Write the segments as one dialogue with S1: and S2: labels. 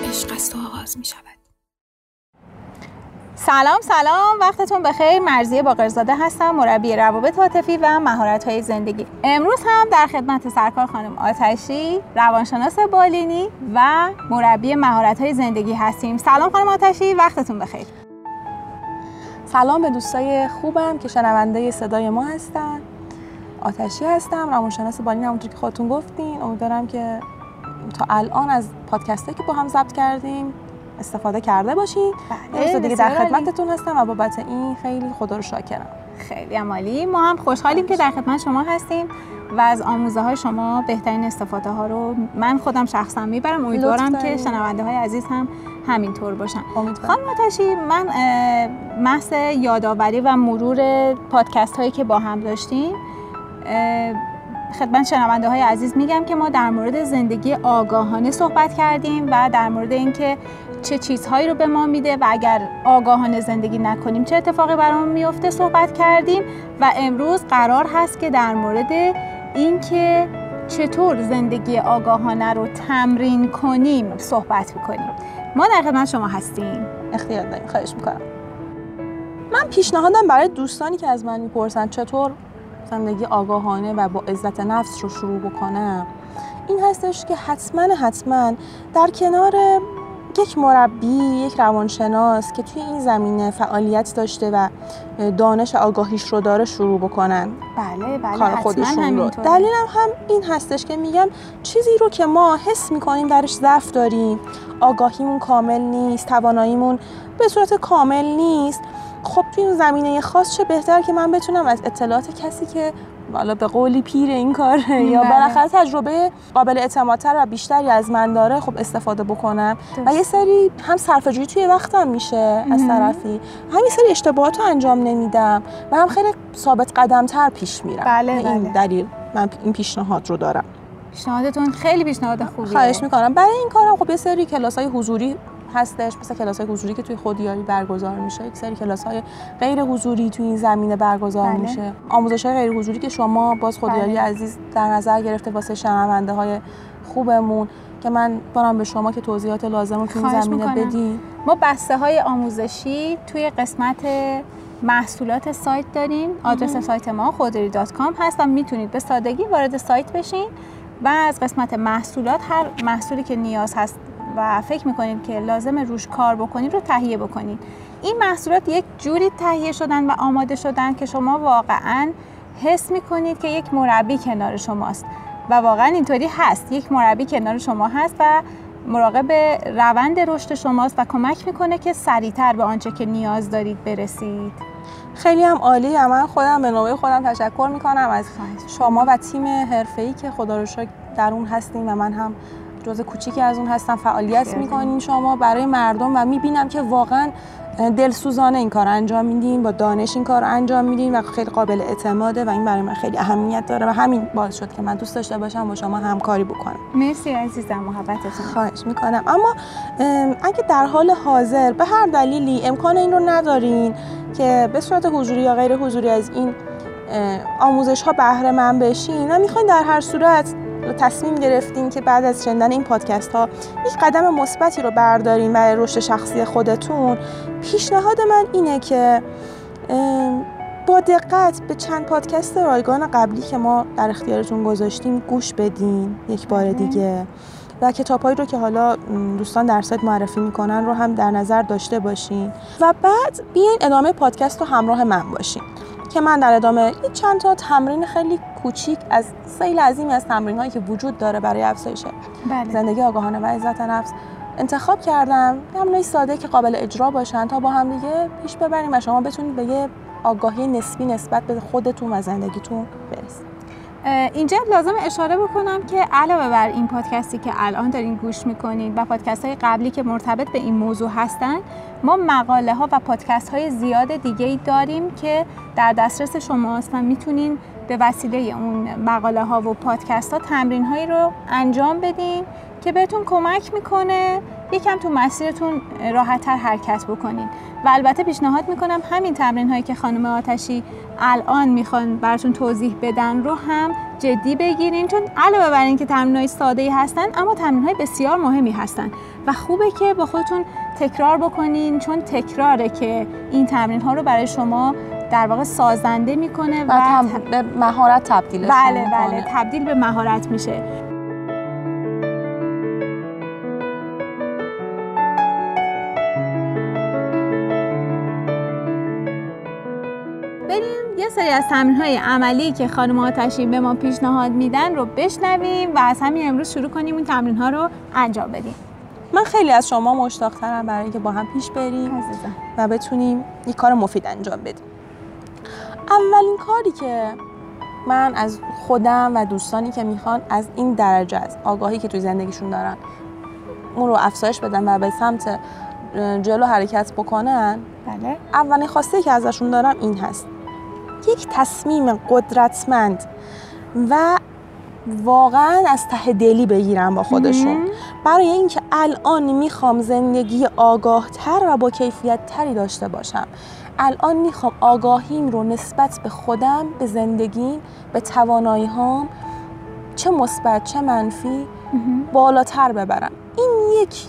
S1: عشق است و آغاز می شود.
S2: سلام، وقتتون بخیر. مرضیه باقرزاده هستم، مربی روابط عاطفی و مهارت‌های زندگی. امروز هم در خدمت سرکار خانم آتشی، روانشناس بالینی و مربی مهارت‌های زندگی هستیم. سلام خانم آتشی، وقتتون بخیر.
S3: سلام به دوستای خوبم که شنونده صدای ما هستن. آتشی هستم، روانشناس بالینی، همونطور که خودتون گفتین. امیدوارم که تا الان از پادکستی که با هم ضبط کردیم استفاده کرده باشین.
S2: بله،
S3: دیگه در خدمتتون هستم و بابت این خیلی خدا رو شاکرم.
S2: خیلی عالی. ما هم خوشحالیم که در خدمت شما هستیم و از آموزه های شما بهترین استفاده ها رو من خودم شخصا میبرم. امیدوارم که شنونده های عزیز هم همینطور باشن. خانم آتشی، من محض یادآوری و مرور پادکست هایی که با هم داشتیم خدمت شنونده های عزیز میگم که ما در مورد زندگی آگاهانه صحبت کردیم و در مورد اینکه چه چیزهایی رو به ما میده و اگر آگاهانه زندگی نکنیم چه اتفاقی برامون میفته صحبت کردیم و امروز قرار هست که در مورد اینکه چطور زندگی آگاهانه رو تمرین کنیم صحبت میکنیم. ما در خدمت شما هستیم.
S3: اختیار داریم، خواهش میکنم. من پیشنهادم برای دوستانی که از من میپرسن چطور زندگی آگاهانه و با عزت نفس رو شروع بکنم، این هستش که حتما در کنار یک مربی، یک روانشناس که توی این زمینه فعالیت داشته و دانش آگاهیش رو داره شروع بکنن.
S2: بله
S3: کار خودشون رو. دلیلم هم این هستش که میگم چیزی رو که ما حس میکنیم درش ضعف داریم، آگاهیمون کامل نیست، تواناییمون به صورت کامل نیست، خب توی این زمینه خاص چه بهتر که من بتونم از اطلاعات کسی که والا به قولی پیر این کاره یا بالاخره تجربه قابل اعتمادتر و بیشتری از من داره خب استفاده بکنم و یه سری هم صرفه‌جویی توی وقتم میشه از طرفی، هم یه سری اشتباهات رو انجام نمیدم و هم خیلی ثابت قدم‌تر پیش میرم.
S2: بله.
S3: این دلیل من این پیشنهاد رو دارم.
S2: پیشنهادتون خیلی پیشنهاد خوبیه.
S3: خواهش میکنم. برای این کارم خب یه سری کلاس‌های حضوری هستش، مثل کلاس‌های حضوری که توی خودیاری برگزار میشه، یک سری کلاس‌های غیر حضوری توی این زمینه برگزار میشه، آموزش‌های غیر حضوری که شما باز خودیاری عزیز در نظر گرفته واسه شنونده‌های خوبمون که من بارم به شما که توضیحات لازم رو توی این زمینه بدین.
S2: ما بسته‌های آموزشی توی قسمت محصولات سایت داریم. آدرس سایت ما خودیاری.com هست و میتونید به سادگی وارد سایت بشین و از قسمت محصولات هر محصولی که نیاز هست و فکر میکنید که لازمه روش کار بکنید رو تهیه بکنید. این محصولات یک جوری تهیه شدن و آماده شدن که شما واقعاً حس میکنید که یک مربی کنار شماست و واقعاً اینطوری هست. یک مربی کنار شما هست و مراقب روند رشد شماست و کمک میکنه که سریعتر به آنچه که نیاز دارید برسید.
S3: خیلی هم عالیه. من خودم به نوبه خودم تشکر میکنم از شما و تیم حرفه‌ای که خدا رو شکر در اون هستین و من هم جزء کوچیکی از اون هستم. فعالیت میکنین شما برای مردم و میبینم که واقعا دلسوزانه این کار انجام میدین، با دانش این کار انجام میدین و خیلی قابل اعتماده و این برای من خیلی اهمیت داره و همین باعث شد که من دوست داشته باشم با شما همکاری بکنم.
S2: مرسی عزیزم، محبتتون.
S3: خواهش میکنم. اما اگه در حال حاضر به هر دلیلی امکان این رو ندارین که به صورت حضوری یا غیر حضوری از این آموزش ها بهره مند بشین و میخواین در هر صورت تصمیم گرفتین که بعد از شنیدن این پادکست ها یک قدم مثبتی رو بردارین برای رشد شخصی خودتون، پیشنهاد من اینه که با دقت به چند پادکست رایگان قبلی که ما در اختیارتون گذاشتیم گوش بدین یک بار دیگه و کتاب‌هایی رو که حالا دوستان در سایت معرفی میکنن رو هم در نظر داشته باشین و بعد بیاین ادامه پادکست رو همراه من باشین که من در ادامه چند تا تمرین خیلی کوچیک از سیل عظیمی از تمرین‌هایی که وجود داره برای افزایش زندگی آگاهانه و عزت نفس انتخاب کردم. تمرینای ساده که قابل اجرا باشن تا با هم دیگه پیش ببریم و شما بتونید به یه آگاهی نسبی نسبت به خودتون و زندگیتون برسید.
S2: اینجا لازم اشاره بکنم که علاوه بر این پادکستی که الان دارین گوش میکنین و پادکست‌های قبلی که مرتبط به این موضوع هستن، ما مقاله ها و پادکست های زیاد دیگه‌ای داریم که در دسترس شماست و میتونین به وسیله اون مقاله ها و پادکست ها تمرین هایی رو انجام بدین که بهتون کمک میکنه یکم تو مسیرتون راحت‌تر حرکت بکنین. و البته پیشنهاد میکنم همین تمرین هایی که خانم آتشی الان میخوان براتون توضیح بدن رو هم جدی بگیرین، چون علاوه بر اینکه تمرین‌های ساده‌ای هستن اما تمرین‌های بسیار مهمی هستن و خوبه که با خودتون تکرار بکنین، چون تکراره که این تمرین‌ها رو برای شما در واقع سازنده میکنه و
S3: به مهارت تبدیلش
S2: میکنه. بله تبدیل به مهارت میشه. بریم یه سری از تمرین‌های عملی که خانم آتشین به ما پیشنهاد میدن رو بشنویم و از همین امروز شروع کنیم این تمرین‌ها رو انجام بدیم.
S3: من خیلی از شما مشتاق‌ترم برای اینکه با هم پیش بریم
S2: عزیزم
S3: و بتونیم یک کار مفید انجام بدیم. اولین کاری که من از خودم و دوستانی که میخوان از این درجه از آگاهی که توی زندگیشون دارن اون رو افزایش بدن و به سمت جلو حرکت بکنن،
S2: بله،
S3: اولین خواسته که ازشون دارم این هست: یک تصمیم قدرتمند و واقعا از ته دلی بگیرن با خودشون برای اینکه الان میخوام زندگی آگاهتر و با کیفیت تری داشته باشم. الان میخوام آگاهیم رو نسبت به خودم، به زندگیم، به توانایی هام، چه مثبت چه منفی، بالاتر ببرم. این یک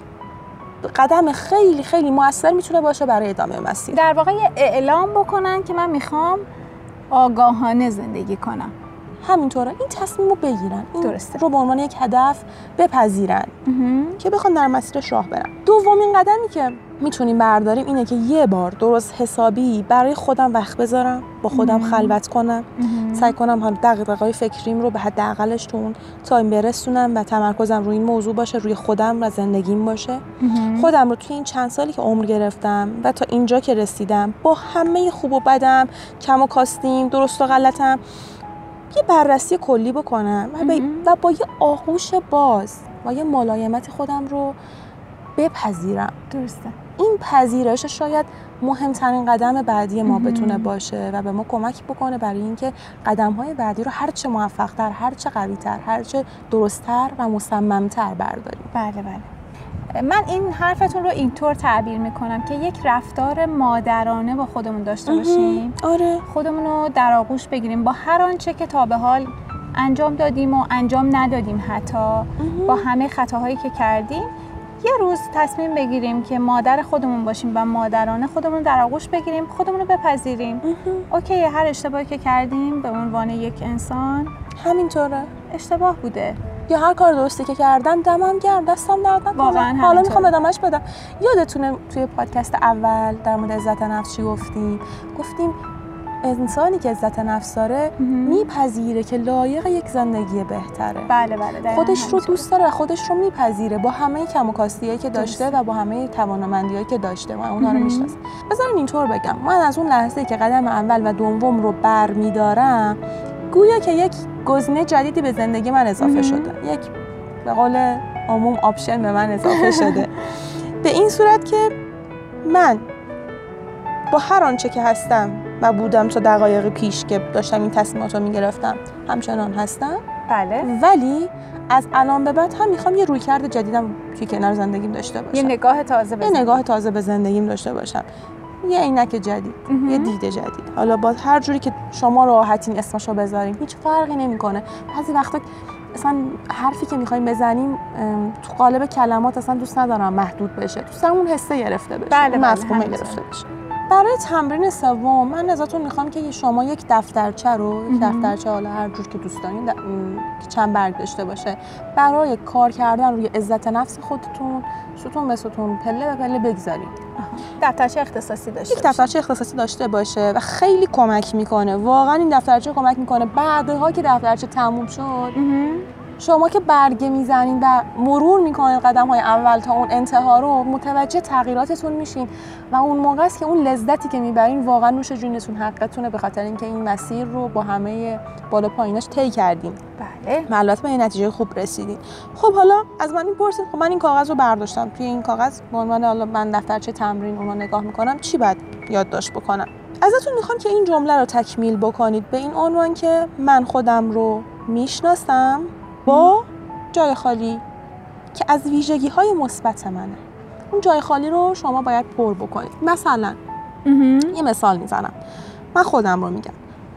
S3: قدم خیلی خیلی موثر میتونه باشه برای ادامه مسیر.
S2: در واقع اعلام بکنن که من میخوام آگاهانه زندگی کنم.
S3: همینطوره، این تصمیم رو بگیرن، این
S2: درسته،
S3: رو به عنوان یک هدف بپذیرن که بخوان در مسیرش راه برن. دومین قدمی که میتونیم برداریم اینه که یه بار درست حسابی برای خودم وقت بذارم، با خودم خلوت کنم، سعی کنم حالا دغدغه‌های فکریم رو به حداقلش تو اون تایم برسونم و تمرکزم روی این موضوع باشه، روی خودم و زندگیم باشه. خودم رو توی این چند سالی که عمر گرفتم و تا اینجا که رسیدم با همه خوب و بدم، کم و کاستیم، درست و غلطم، یه بررسی کلی بکنم و با یه آغوش باز و یه ملایمت خودم رو بپذیرم.
S2: درسته.
S3: این پذیرش شاید مهمترین قدم بعدی ما بتونه باشه و به ما کمک بکنه برای اینکه قدم‌های بعدی رو هرچه موفق‌تر، هرچه قوی‌تر، هرچه درست‌تر و مصمم‌تر برداریم.
S2: بله بله. من این حرفتون رو اینطور تعبیر میکنم که یک رفتار مادرانه با خودمون داشته باشیم.
S3: آره.
S2: خودمون رو در آغوش بگیریم با هر آنچه که تا به حال انجام دادیم و انجام ندادیم، حتی با همه خطاهایی که کردیم. یه روز تصمیم بگیریم که مادر خودمون باشیم و مادرانه خودمون رو در آغوش بگیریم، خودمون رو بپذیریم. اوکی، هر اشتباهی که کردیم به عنوان یک انسان
S3: همینطوره،
S2: اشتباه بوده.
S3: یا هر کار درستی که کردم دمم گرم، دستم درد نکنه،
S2: واقعا
S3: حالا میخوام ادامهش بدم. یادتونه توی پادکست اول در مورد عزت نفس چی گفتیم انسانی که عزت نفس داره میپذیره که لایق یک زندگی بهتره.
S2: بله بله.
S3: خودش رو دوست داره، خودش رو میپذیره با همه کم و کاستیایی که داشته و با همه توانمندیایی که داشته. من اونها رو میشناسم. بذارین اینطور بگم، من از اون لحظه‌ای که قدم اول و دوم رو برمی‌دارم، گویا که یک گزینه جدیدی به زندگی من اضافه شده. یک به قول عموم آپشن به من اضافه شده. به این صورت که من با هر آنچه که هستم و بودم تا دقایق پیش که داشتم این تصمیمات رو میگرفتم همچنان هستم.
S2: بله.
S3: ولی از الان به بعد هم میخوام یه رویکرد جدیدم توی کنار زندگیم داشته باشم.
S2: یه نگاه تازه
S3: به زندگیم داشته باشم. یه عینک جدید، یه دید جدید. حالا با هر جوری که شما راحتین اسمشو بذارین هیچ فرقی نمیکنه. بعضی وقتا اصلا حرفی که میخوایم بزنیم تو قالب کلمات اصلا دوست ندارم محدود بشه. دوست دارم اون حسه گرفته بشه.
S2: بله
S3: مفهوم گرفته بشه. برای تمرین سوم من ازتون میخوام که شما یک دفترچه حالا هر جور که دوست دارین که چند برگ داشته باشه، برای کار کردن روی عزت نفس خودتون ستون به ستون، پله به پله بگذارید.
S2: دفترچه اختصاصی داشته
S3: یک دفترچه اختصاصی داشته باشه و خیلی کمک میکنه. واقعا این دفترچه کمک میکنه. بعدها که دفترچه تموم شد، شما که برگه میزنین و مرور میکنین قدم‌های اول تا اون انتها رو، متوجه تغییراتتون میشین و اون موقع است که اون لذتی که میبرین واقعا نوش جونتون، حقتونه، به خاطر اینکه این مسیر رو با همه بالا پاییناش طی کردین.
S2: بله.
S3: البته به این نتیجه خوب رسیدین. خب حالا از من میپرسید، خب من این کاغذ رو برداشتم، توی این کاغذ به عنوان حالا من دفترچه تمرین اون رو نگاه میکنم، چی باید یادداشت بکنم؟ ازتون میخوام که این جمله رو تکمیل بکنید به این عنوان که من خودم رو میشناسم با جای خالی که از ویژگی‌های مثبت منه. اون جای خالی رو شما باید پر بکنید. مثلا یه مثال میزنم، من خودم رو میگم،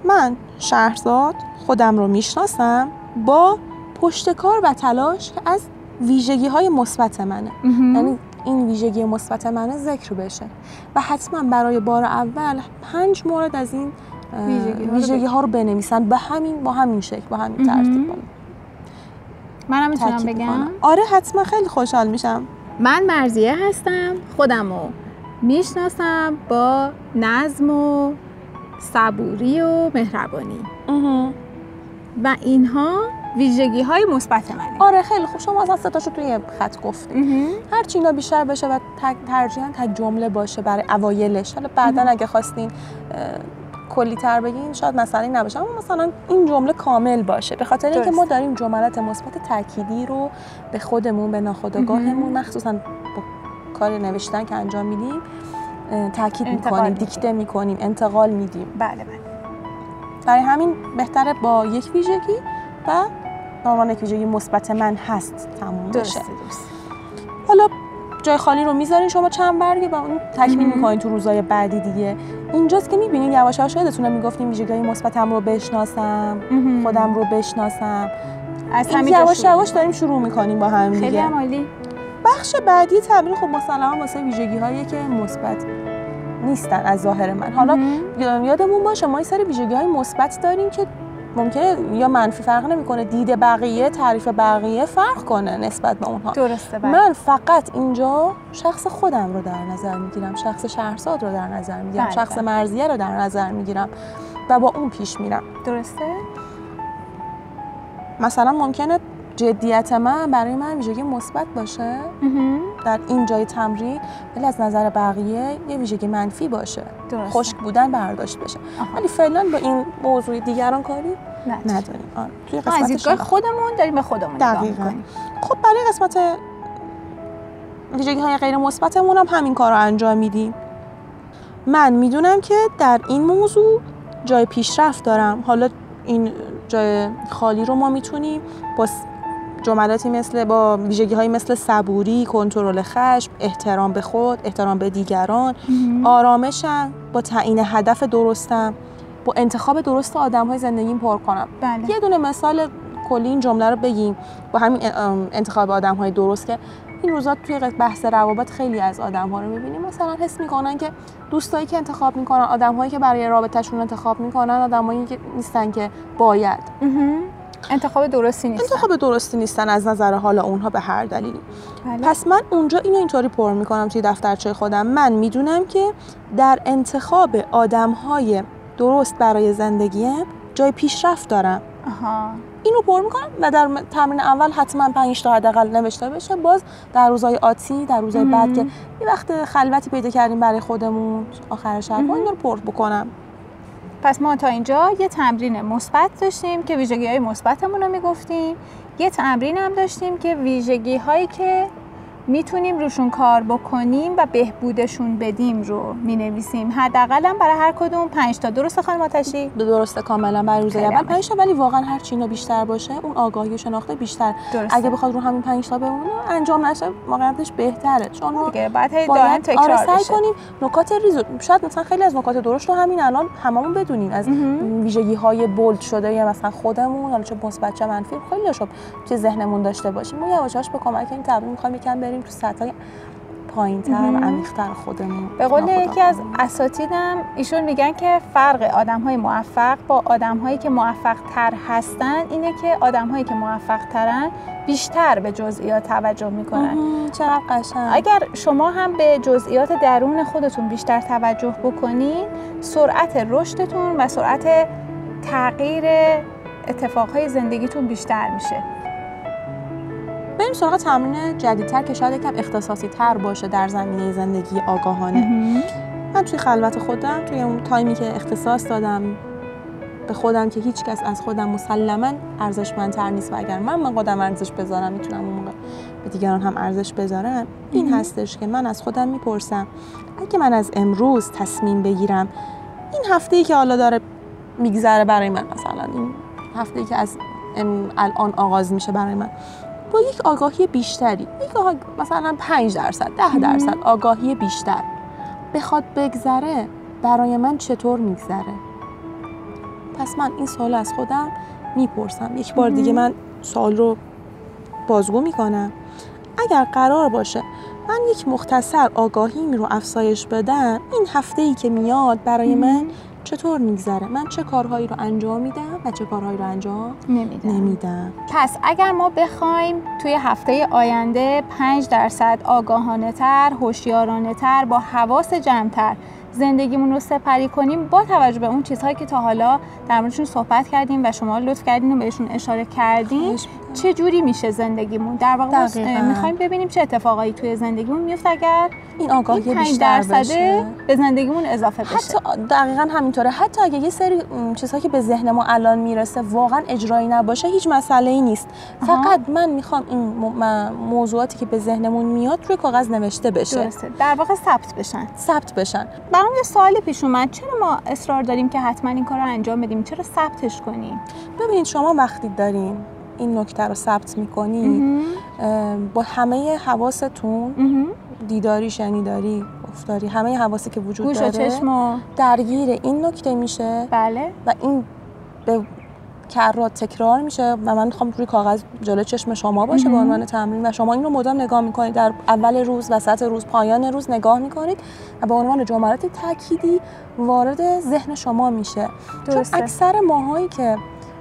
S3: من شهرزاد خودم رو میشناسم با پشتکار و تلاش که از ویژگی‌های مثبت منه. یعنی این ویژگی مثبت منه ذکر بشه و حتما برای بار اول 5 مورد از این ویژگی‌ها رو بنویسن با همین شکل، با همین ترتیب.
S2: منم میتونم بگم؟
S3: آره حتما، خیلی خوشحال میشم.
S2: من مرضیه هستم، خودمو میشناسم با نظم و صبوری و مهربانی و اینها ویژگی‌های مثبت منه.
S3: آره خیلی خوب، شما اصلا 3 تاشو توی خط گفتی. هر چی اینا بیشتر بشه و ترجیحاً تک جمله باشه برای اوایلش. حالا بعداً اگه خواستین کلی تر بگین شاید مسئله نباشه، اما مثلا این جمله کامل باشه، به خاطر اینکه ما داریم جملات مثبت تأکیدی رو به خودمون، به ناخودآگاهمون، مخصوصاً با کار نوشتن که انجام میدیم تأکید میکنیم، دیکته میکنیم، انتقال میدیم.
S2: بله.
S3: برای همین بهتره با یک ویژگی و به عنوان یک ویژگی مثبت من هست تموم بشه.
S2: درست.
S3: حالا جای خالی رو میذارین شما چند برگه و اون تکمیل میکنین تو روزهای بعدی دیگه. اینجاست که میبینین یواش یواش یادتونه میگفتیم ویژگی‌های مثبتم رو بشناسم، خودم رو بشناسم.
S2: از همین
S3: یواش یواش داریم شروع میکنیم با هم دیگه.
S2: خیلی عالی.
S3: بخش بعدی تمرین خب مثلا واسه ویژگی‌هایی که مثبت نیستن از ظاهر من. حالا یادمون باشه ما این سری ویژگی‌های مثبت داریم که ممکنه یا منفی، فرق نمی‌کنه، دید بقیه، تعریف بقیه فرق کنه نسبت به اونها.
S2: درسته.
S3: من فقط اینجا شخص خودم رو در نظر میگیرم، شخص شهرزاد رو در نظر میگیرم، شخص مرضیه رو در نظر میگیرم و با اون پیش میرم.
S2: درسته.
S3: مثلا ممکنه جدیت من برای من ویژگی مثبت باشه در این جای تمرین، ولی از نظر بقیه یه ویژگی منفی باشه.
S2: درسته.
S3: خشک بودن برداشت بشه. ولی فعلا با این موضوع دیگران کاری نداریم. توی قسمت
S2: دیدگاه خودمون داریم به خودمون نگاه می‌کنیم.
S3: خب برای قسمت ویژگی‌های غیر مثبتمون هم همین کار رو انجام میدیم. من میدونم که در این موضوع جای پیشرفت دارم. حالا این جای خالی رو ما میتونیم با جملاتی با ویژگی‌هایی مثل صبوری، کنترل خشم، احترام به خود، احترام به دیگران، آرامشم، با تعیین هدف درستم، با انتخاب درست آدم‌های زندگیم پر کنم.
S2: بله.
S3: یه دونه مثال کلی این جمله رو بگیم با همین انتخاب آدم‌های درست که این روزا توی بحث روابط خیلی از آدم‌ها رو می‌بینیم مثلا حس می‌کنن که دوستایی که انتخاب می‌کنن، آدم‌هایی که برای رابطه‌شون انتخاب می‌کنن، آدمایی که نیستن که باید.
S2: انتخاب درستی نیستن از نظر حالا اونها به هر دلیلی.
S3: بله. پس من اونجا اینطوری پر می‌کنم توی دفترچه خودم. من می‌دونم که در انتخاب آدم‌های درست برای زندگیم جای پیشرفت دارم. اینو پر میکنم و در تمرین اول حتما 5 تا حداقل نوشته بشه. باز در روزهای آتی، در روزهای بعد که یه وقت خلوتی پیدا کردیم برای خودمون آخر شب، اینو رو پر بکنم.
S2: پس ما تا اینجا یه تمرین مثبت داشتیم که ویژگی‌های مثبتمون رو میگفتیم. یه تمرین هم داشتیم که ویژگی‌هایی که میتونیم روشون کار بکنیم و بهبودشون بدیم رو مینویسیم. حداقل هم برای هر کدوم 5 تا. درسته خانم آتشی؟
S3: درسته کاملا. برای روز اول 5 تا، ولی واقعا هر چی اینا بیشتر باشه اون آگاهی و شناخته بیشتر.
S2: درسته.
S3: اگه بخواد رو همین 5 تا بمونه انجام نشه واقعیتش بهتره، چون
S2: دیگه بعد دائم تکرار بشه.
S3: سعی کنیم نکات ریز، شاید مثلا خیلی از نکات درشت رو همین الان هممون بدونیم، از ویژگی‌های بولد شده یا مثلا خودمون، حالا چه مثبت چه منفی، خیلی‌هاشو تو ذهنمون داشته باشیم. ما یواش یواش به کمک این تمرین می‌خوایم یکم بریم تو سطح پایین‌تر و عمیق‌تر خودمون.
S2: به قول یکی از اساتیدم ایشون میگن که فرق آدم‌های موفق با آدم‌هایی که موفق‌تر هستن اینه که آدم‌هایی که موفق‌ترن بیشتر به جزئیات توجه میکنن.
S3: چقدر قشنگ.
S2: اگر شما هم به جزئیات درون خودتون بیشتر توجه بکنین، سرعت رشدتون و سرعت تغییر اتفاقهای زندگیتون بیشتر میشه.
S3: بریم سراغ تمرین جدیدتر که شاید یکم اختصاصی تر باشه در زمینه زندگی آگاهانه. من توی خلوت خودم، توی اون تایمی که اختصاص دادم به خودم که هیچ کس از خودم مسلماً ارزشمندتر نیست و اگر من خودم ارزش بذارم میتونم اون موقع به دیگران هم ارزش بذارم، این هستش که من از خودم میپرسم اگه من از امروز تصمیم بگیرم این هفته‌ای که حالا داره میگذره برای من، مثلا این هفته‌ای که از الان آغاز میشه برای من، با یک آگاهی بیشتری، مثلا 5%، 10% آگاهی بیشتر بخواد بگذره، برای من چطور میگذره؟ پس من این سوال از خودم میپرسم. یک بار دیگه من سوال رو بازگو میکنم. اگر قرار باشه من یک مختصر آگاهیم رو افزایش بدم، این هفته‌ای که میاد برای من چطور میگذره؟ من چه کارهایی رو انجام میدم و چه کارهایی رو انجام نمیدم.
S2: پس اگر ما بخوایم توی هفته آینده 5% آگاهانه تر، هوشیارانه تر، با حواس جمع‌تر زندگیمون رو سپری کنیم، با توجه به اون چیزهایی که تا حالا در موردشون صحبت کردیم و شما لطف کردین و بهشون اشاره کردین، چه جوری میشه زندگیمون؟ در واقع میخوایم ببینیم چه اتفاقایی توی زندگیمون میفته اگر
S3: این آگاهی بیشتر بشه،
S2: به زندگیمون اضافه بشه.
S3: حتی دقیقاً همینطوره. حتی اگه یه سری چیزهایی که به ذهن ما الان میرسه واقعا اجرایی نباشه، هیچ مسئله‌ای نیست. فقط من میخوام این موضوعاتی که به ذهنمون میاد روی کاغذ نوشته بشه.
S2: درسته. در واقع ثبت بشن. برام یه سوالی پیش اومد، چرا ما اصرار داریم که حتما این کارو انجام بدیم؟ چرا ثبتش کنیم؟
S3: ببینید شما وقتی دارین این نکته رو ثبت میکنید با همه حواستون، دیداری، شنیداری، گفتاری، همه حواسی که وجود
S2: گوش
S3: داره،
S2: و چشم
S3: درگیر این نکته میشه.
S2: بله.
S3: و این به کرات تکرار میشه و من میخوام روی کاغذ جلوی چشم شما باشه به عنوان تمرین و شما این رو مدام نگاه میکنید. در اول روز، وسط روز، پایان روز نگاه میکنید و به عنوان جملات تأکیدی وارد ذهن شما میشه.
S2: درسته.
S3: چون اکثر ماهایی که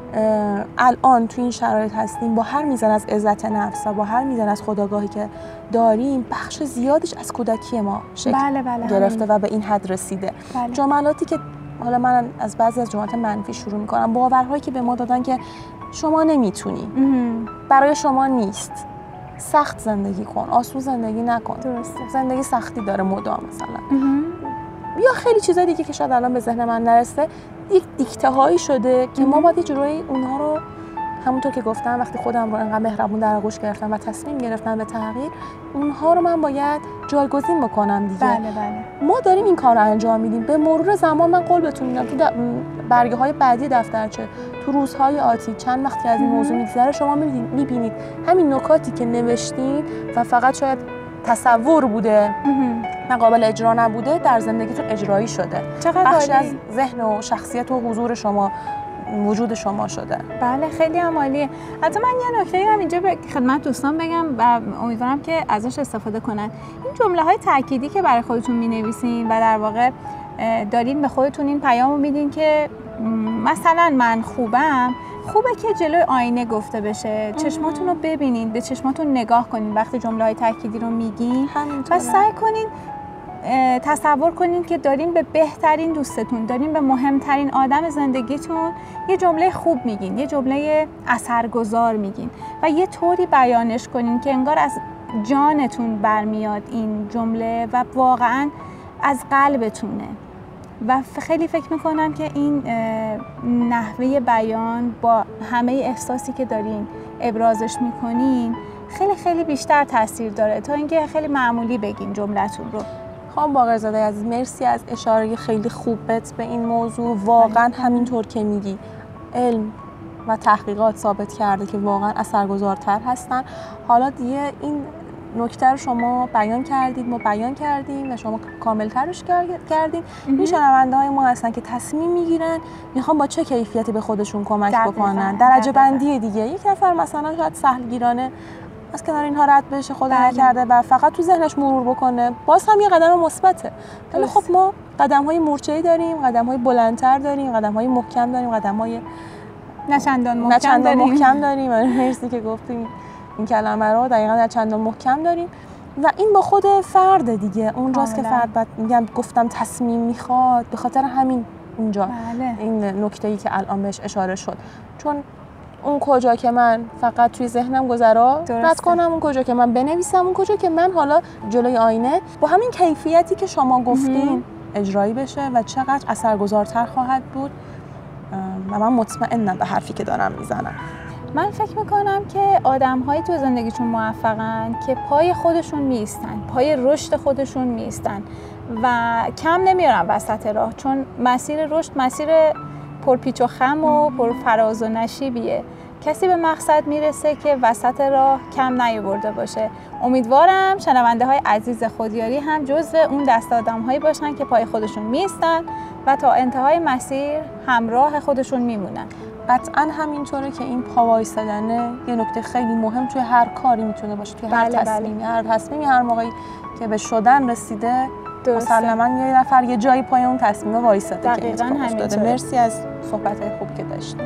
S3: الان تو این شرایط هستیم، با هر میزان از عزت نفس و با هر میزان از خودآگاهی که داریم، بخش زیادش از کودکی ما شکل گرفته و به این حد رسیده. جملاتی که حالا من از بعضی از جملات منفی شروع میکنم، باورهایی که به ما دادن که شما نمیتونی، برای شما نیست، سخت زندگی کن، آسون زندگی نکن.
S2: درسته.
S3: زندگی سختی داره مدام مثلا. یا خیلی چیزای دیگه که شاید الان به ذهن من نرسه، یک دیکته هایی شده که ما باید جلوی اونها رو، همونطور که گفتم وقتی خودم رو انقدر مهربون در آغوش گرفتم و تصمیم گرفتم به تغییر، اونها رو من باید جایگزین بکنم دیگه.
S2: بله.
S3: ما داریم این کار رو انجام میدیم. به مرور زمان من قول بهتون میدم تو برگه های بعدی دفترچه، تو روزهای آتی، چند وقتی از این موضوع میگذره، شما میبینید همین نکاتی که نوشتین و فقط شاید تصور بوده و قابل اجرا نبوده، در زندگیتون اجرایی شده. بخشی از ذهن و شخصیت و حضور شما، وجود شما شده.
S2: بله، خیلی عالیه. حتی من یه نکته هم اینجا به خدمت دوستان بگم و امیدوارم که ازش استفاده کنن. این جمله های تأکیدی که برای خودتون می‌نویسین و در واقع دارین به خودتون این پیامو میدین که مثلا من خوبه که جلوی آینه گفته بشه. چشماتون رو ببینین، به چشماتون نگاه کنین وقتی جمله های تأکیدی رو میگین و سعی کنین تصور کنین که دارین به بهترین دوستتون، دارین به مهمترین آدم زندگیتون یه جمله خوب میگین، یه جمله اثرگذار میگین و یه طوری بیانش کنین که انگار از جانتون برمیاد این جمله و واقعاً از قلبتونه. و خیلی فکر میکنم که این نحوه بیان با همه احساسی که دارین ابرازش میکنین خیلی خیلی بیشتر تاثیر داره تا اینکه خیلی معمولی بگین جملتون رو.
S3: خانم باقرزاده عزیز، مرسی از اشاره خیلی خوبت به این موضوع. واقعا همینطور که میگی، علم و تحقیقات ثابت کرده که واقعا اثرگذارتر هستن. حالا دیگه این نکته رو شما بیان کردید، ما بیان کردیم و شما کاملترش کردید. این شنونده‌های ما هستن که تصمیم میگیرن میخوان با چه کیفیتی به خودشون کمک بکنن. درجه بندی دیگه، یک نفر مثلا شاید سهلگیرانه از کنار اینها رد بشه، خود نکرده و فقط تو ذهنش مرور بکنه، باز هم یه قدم مثبته. ولی خب ما قدم‌های مورچه‌ای داریم، قدم‌های بلندتر داریم، قدم‌های محکم داریم، قدم‌های
S2: نچندان محکم
S3: داریم. مرسی که گفتیم این کلمه رو. دقیقاً نچندان محکم داریم و این با خود فرد دیگه اونجاست که فرد بعد میگم گفتم تصمیم میخواد، به خاطر همین اونجا این نکته‌ای که الان بهش اشاره شد. چون اون کجا که من فقط توی ذهنم گذرا رد کنم، اون کجا که من بنویسم، اون کجا که من حالا جلوی آینه با همین کیفیتی که شما گفتین اجرایی بشه و چقدر اثرگذارتر خواهد بود. و من مطمئنم به حرفی که دارم میزنم.
S2: من فکر میکنم که آدم‌هایی تو زندگیشون موفقن که پای خودشون میستن، پای رشد خودشون میستن و کم نمیارن وسط راه، چون مسیر رشد مسیر پرپیچ و خم و پر فراز و نشیبیه. کسی به مقصد میرسه که وسط راه کم نیاورده باشه. امیدوارم شنونده های عزیز خودیاری هم جزو اون دست آدم هایی باشن که پای خودشون میستن و تا انتهای مسیر همراه خودشون میمونن.
S3: قطعا همینطوره که این پا وایسادنه یه نکته خیلی مهم توی هر کاری میتونه باشه، توی هر تصمیمی، هر تصمیمی هر موقعی که به شدن رسیده مسلماً یه نفر یه جایی پای اون تصمیم وایساده.
S2: دقیقاً همینطوره.
S3: مرسی از صحبت‌های خوب که داشتیم.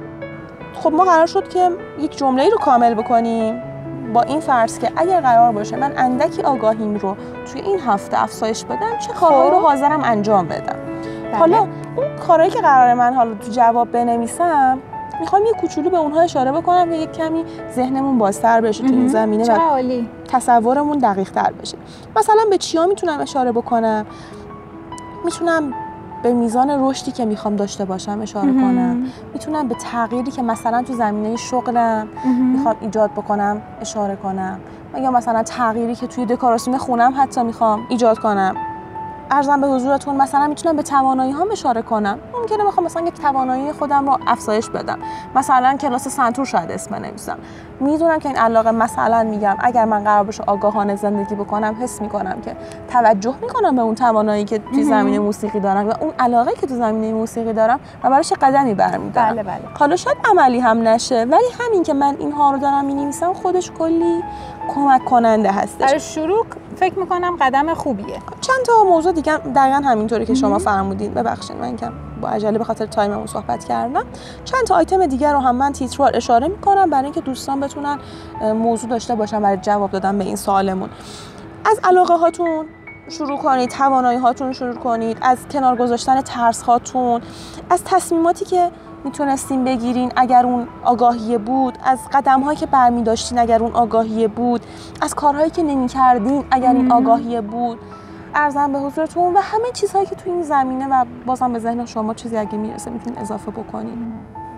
S3: خب ما قرار شد که یک جمله‌ای رو کامل بکنیم با این فرض که اگر قرار باشه من اندکی آگاهیم رو توی این هفته افزایش بدم، چه کارهایی رو حاضرم انجام بدم. حالا اون کارهایی که قراره من حالا تو جواب بنویسم، میخوام یه کوچولو به اونها اشاره بکنم که یک کمی ذهنمون بازتر بشه تو این زمینه و تصورمون دقیق‌تر بشه. مثلا به چیا میتونم اشاره بکنم؟ میتونم به میزان رشدی که میخوام داشته باشم اشاره کنم، میتونم به تغییری که مثلا تو زمینه شغلم میخوام ایجاد بکنم اشاره کنم، یا مثلا تغییری که توی دکوراسیون خونم حتی میخوام ایجاد کنم. عرضم به حضورتون مثلا میتونم به توانایی هام اشاره کنم. ممکنه بخوام مثلا یک توانایی خودم رو افزایش بدم، مثلا کلاس سنتور شاید اسم بنویسم. میدونم که این علاقه، مثلا میگم اگر من قرار باشه آگاهانه زندگی بکنم، حس میکنم که توجه میکنم به اون توانایی که تو زمینه موسیقی دارم و اون علاقه که تو زمینه موسیقی دارم و براش قدمی برمی‌دارم.
S2: بله.
S3: حالا شاید عملی هم نشه، ولی همین که من اینها رو دارم می‌نویسم خودش کلی کمک کننده هستش.
S2: برای شروع فکر میکنم قدم خوبیه.
S3: چند تا موضوع دیگه دقیقاً همینطوری که شما فرمودین، ببخشید من کم با عجله به خاطر تایممون صحبت کردم. چند تا آیتم دیگر رو هم من تیتروار اشاره میکنم برای اینکه دوستان بتونن موضوع داشته باشن برای جواب دادن به این سوالمون. از علاقه هاتون شروع کنید، توانایی هاتون شروع کنید، از کنار گذاشتن ترس هاتون، از تصمیماتی که میتونستین بگیرین اگر اون آگاهی بود، از قدم هایی که برمی داشتین اگر اون آگاهی بود، از کارهایی که نمی کردین اگر این آگاهی بود. عرضم به حضورتون و همه چیزهایی که تو این زمینه و بازم به ذهن شما چیزی اگه میرسه میتونین اضافه بکنین.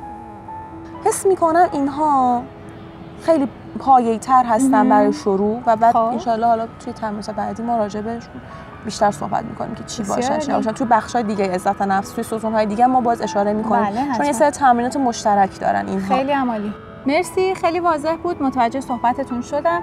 S3: حس میکنم اینها خیلی پایه‌ای‌تر هستن برای شروع و بعد انشالله حالا توی تمرین بعدی ما راجع بهشون بیشتر صحبت میکنیم که چی باشه، چی نباشه. توی بخشای دیگه عزت نفس، توی ستون‌های دیگه ما باز اشاره میکنیم چون یه سری تمرینات مشترک دارن اینها.
S2: خیلی عالی. مرسی، خیلی واضح بود، متوجه صحبتتون شدم.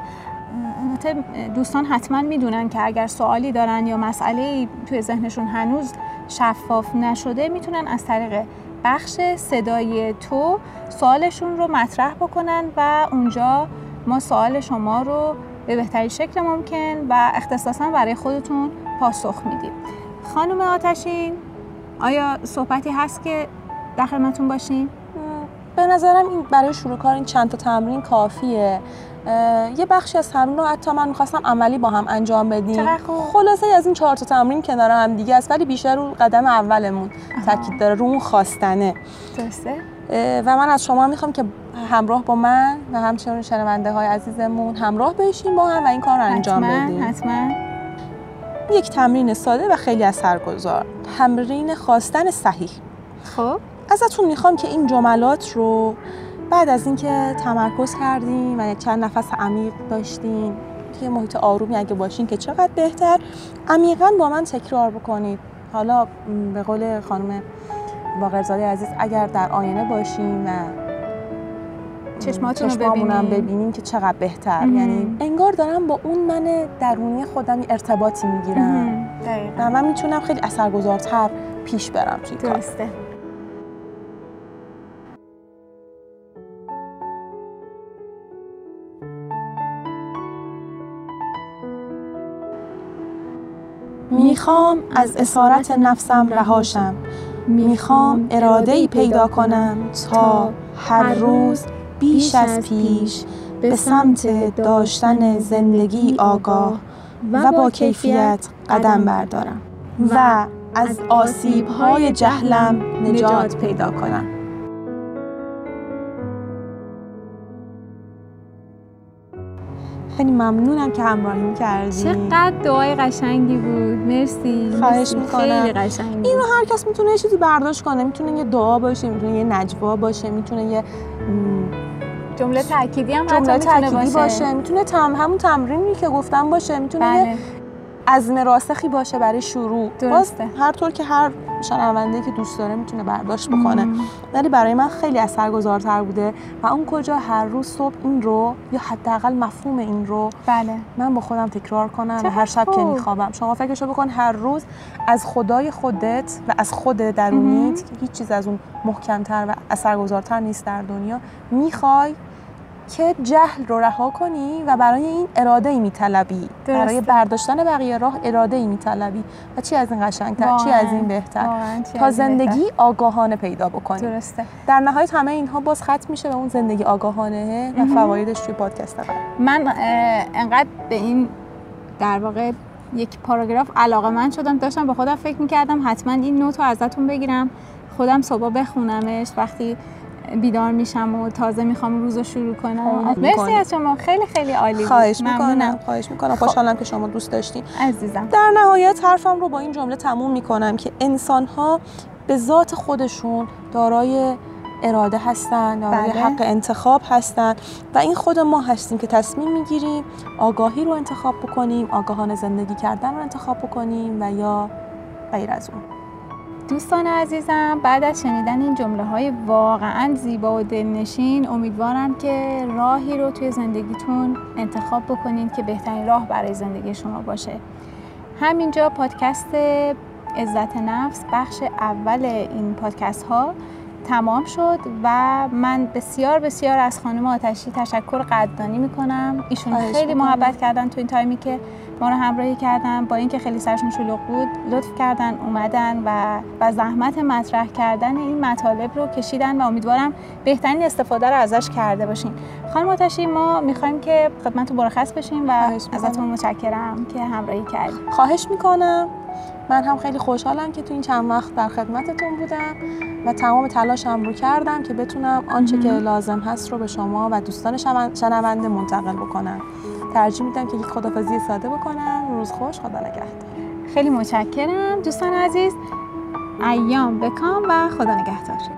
S2: دوستان حتما میدونن که اگر سوالی دارن یا مسئله‌ای توی ذهنشون هنوز شفاف نشده، میتونن از طریق بخش صدای تو سوالشون رو مطرح بکنن و اونجا ما سوال شما رو به بهترین شکل ممکن و اختصاصا برای خودتون پاسخ میدیم. خانم آتشین، آیا صحبتی هست که در خدمتتون باشیم؟
S3: به نظرم این برای شروع کار این چند تا تمرین کافیه. یه بخشی از تمرین رو حتی من می‌خواستم عملی با هم انجام بدیم. خلاصه از این 4 تا تمرین کنار هم دیگه است، ولی بیشتر رو قدم اولمون تاکید داره، رو اون خواستنه.
S2: درسته.
S3: و من از شما میخوام که همراه با من و همچنین شنونده‌های عزیزمون همراه بشین با هم و این کار رو انجام بدیم.
S2: حتما.
S3: یک تمرین ساده و خیلی اثرگذار، تمرین خواستن صحیح.
S2: خب
S3: ازتون میخوام که این جملات رو بعد از اینکه تمرکز کردین و چند نفس عمیق داشتین توی محیط آرومی اگه باشین که چقدر بهتر، عمیقاً با من تکرار بکنید. حالا به قول خانم باقرزاده عزیز اگر در آینه باشیم و چشمامونم ببینیم که چقدر بهتر. یعنی انگار دارم با اون من درونی خودم ارتباطی میگیرم و من میتونم خیلی اثرگذارتر پیش برم توی کار.
S2: درسته.
S3: میخوام از اسارت نفسم رهاشم، میخوام اراده‌ای پیدا کنم تا هر روز بیش از پیش به سمت داشتن زندگی آگاه و با کیفیت قدم بردارم و از آسیب‌های جهلم نجات پیدا کنم. خیلی ممنونم که همراهیم کردی.
S2: چقدر دعای قشنگی بود. مرسی.
S3: خواهش میکنم.
S2: خیلی قشنگی.
S3: اینو هر کس میتونه یه چیزی برداشت کنه. میتونه یه دعا باشه، میتونه یه نجوا باشه، میتونه یه
S2: جمله تأکیدی هم
S3: باشه. میتونه همون تمرینی که گفتم باشه. میتونه یه عزم راسخی باشه برای شروع.
S2: درسته.
S3: هر طور که هر شنونده‌ای که دوست داره میتونه برداشت بکنه، ولی برای من خیلی اثرگذارتر بوده و اون کجا هر روز صبح این رو یا حداقل مفهوم این رو
S2: بله
S3: من با خودم تکرار کنم و هر شب که میخوابم. شما فکرشو بکن هر روز از خدای خودت و از خود درونیت که هیچ چیز از اون محکمتر و اثرگذارتر نیست در دنیا میخوای که جهل رو رها کنی و برای این اراده‌ای میطلبی، برای برداشتن بقیه راه اراده‌ای میطلبی و چی از این قشنگتر، چی از این بهتر تا زندگی آگاهانه پیدا بکنی.
S2: درسته.
S3: در نهایت همه اینها باز ختم میشه به اون زندگی آگاهانه و فوایدش توی پادکست قبل.
S2: من انقدر به این در واقع یک پاراگراف علاقه‌مند شدم، داشتم با خودم فکر می‌کردم حتما این نوتو ازتون بگیرم، خودم صبح بخونمش وقتی بیدار میشم و تازه میخوام روزو شروع کنم. مرسی از شما، خیلی خیلی عالی بود.
S3: خواهش میکنم. خوشحالم که شما دوست داشتین.
S2: عزیزم.
S3: در نهایت حرفم رو با این جمله تموم میکنم که انسان‌ها به ذات خودشون دارای اراده هستن، دارای حق انتخاب هستن و این خود ما هستیم که تصمیم میگیریم آگاهی رو انتخاب بکنیم، آگاهانه زندگی کردن رو انتخاب بکنیم و یا غیر از اون.
S2: دوستان عزیزم، بعد از شنیدن این جمله‌های واقعاً زیبا و دلنشین، امیدوارم که راهی رو توی زندگیتون انتخاب بکنید که بهترین راه برای زندگی شما باشه. همینجا پادکست عزت نفس بخش اول این پادکست ها تمام شد و من بسیار بسیار از خانم آتشی تشکر قدردانی میکنم. ایشون خیلی محبت کردن تو این تایمی که ما رو همراهی کردن، با اینکه خیلی سرشون شلوغ بود لطف کردن اومدن و زحمت مطرح کردن این مطالب رو کشیدن و امیدوارم بهترین استفاده رو ازش کرده باشین. خانم آتشی، ما میخوایم که خدمتتون مرخص بشیم و ازتون متشکرم که همراهی کردید.
S3: خواهش میکنم. من هم خیلی خوشحالم که تو این چند وقت در خدمتتون بودم و تمام تلاشم رو کردم که بتونم آنچه که لازم هست رو به شما و دوستان شنونده منتقل بکنم. ترجیح میدم که یک خداحافظی ساده بکنم. روز خوش، خدا نگهدار.
S2: خیلی متشکرم دوستان عزیز. ایام بکام و خدا نگهدار.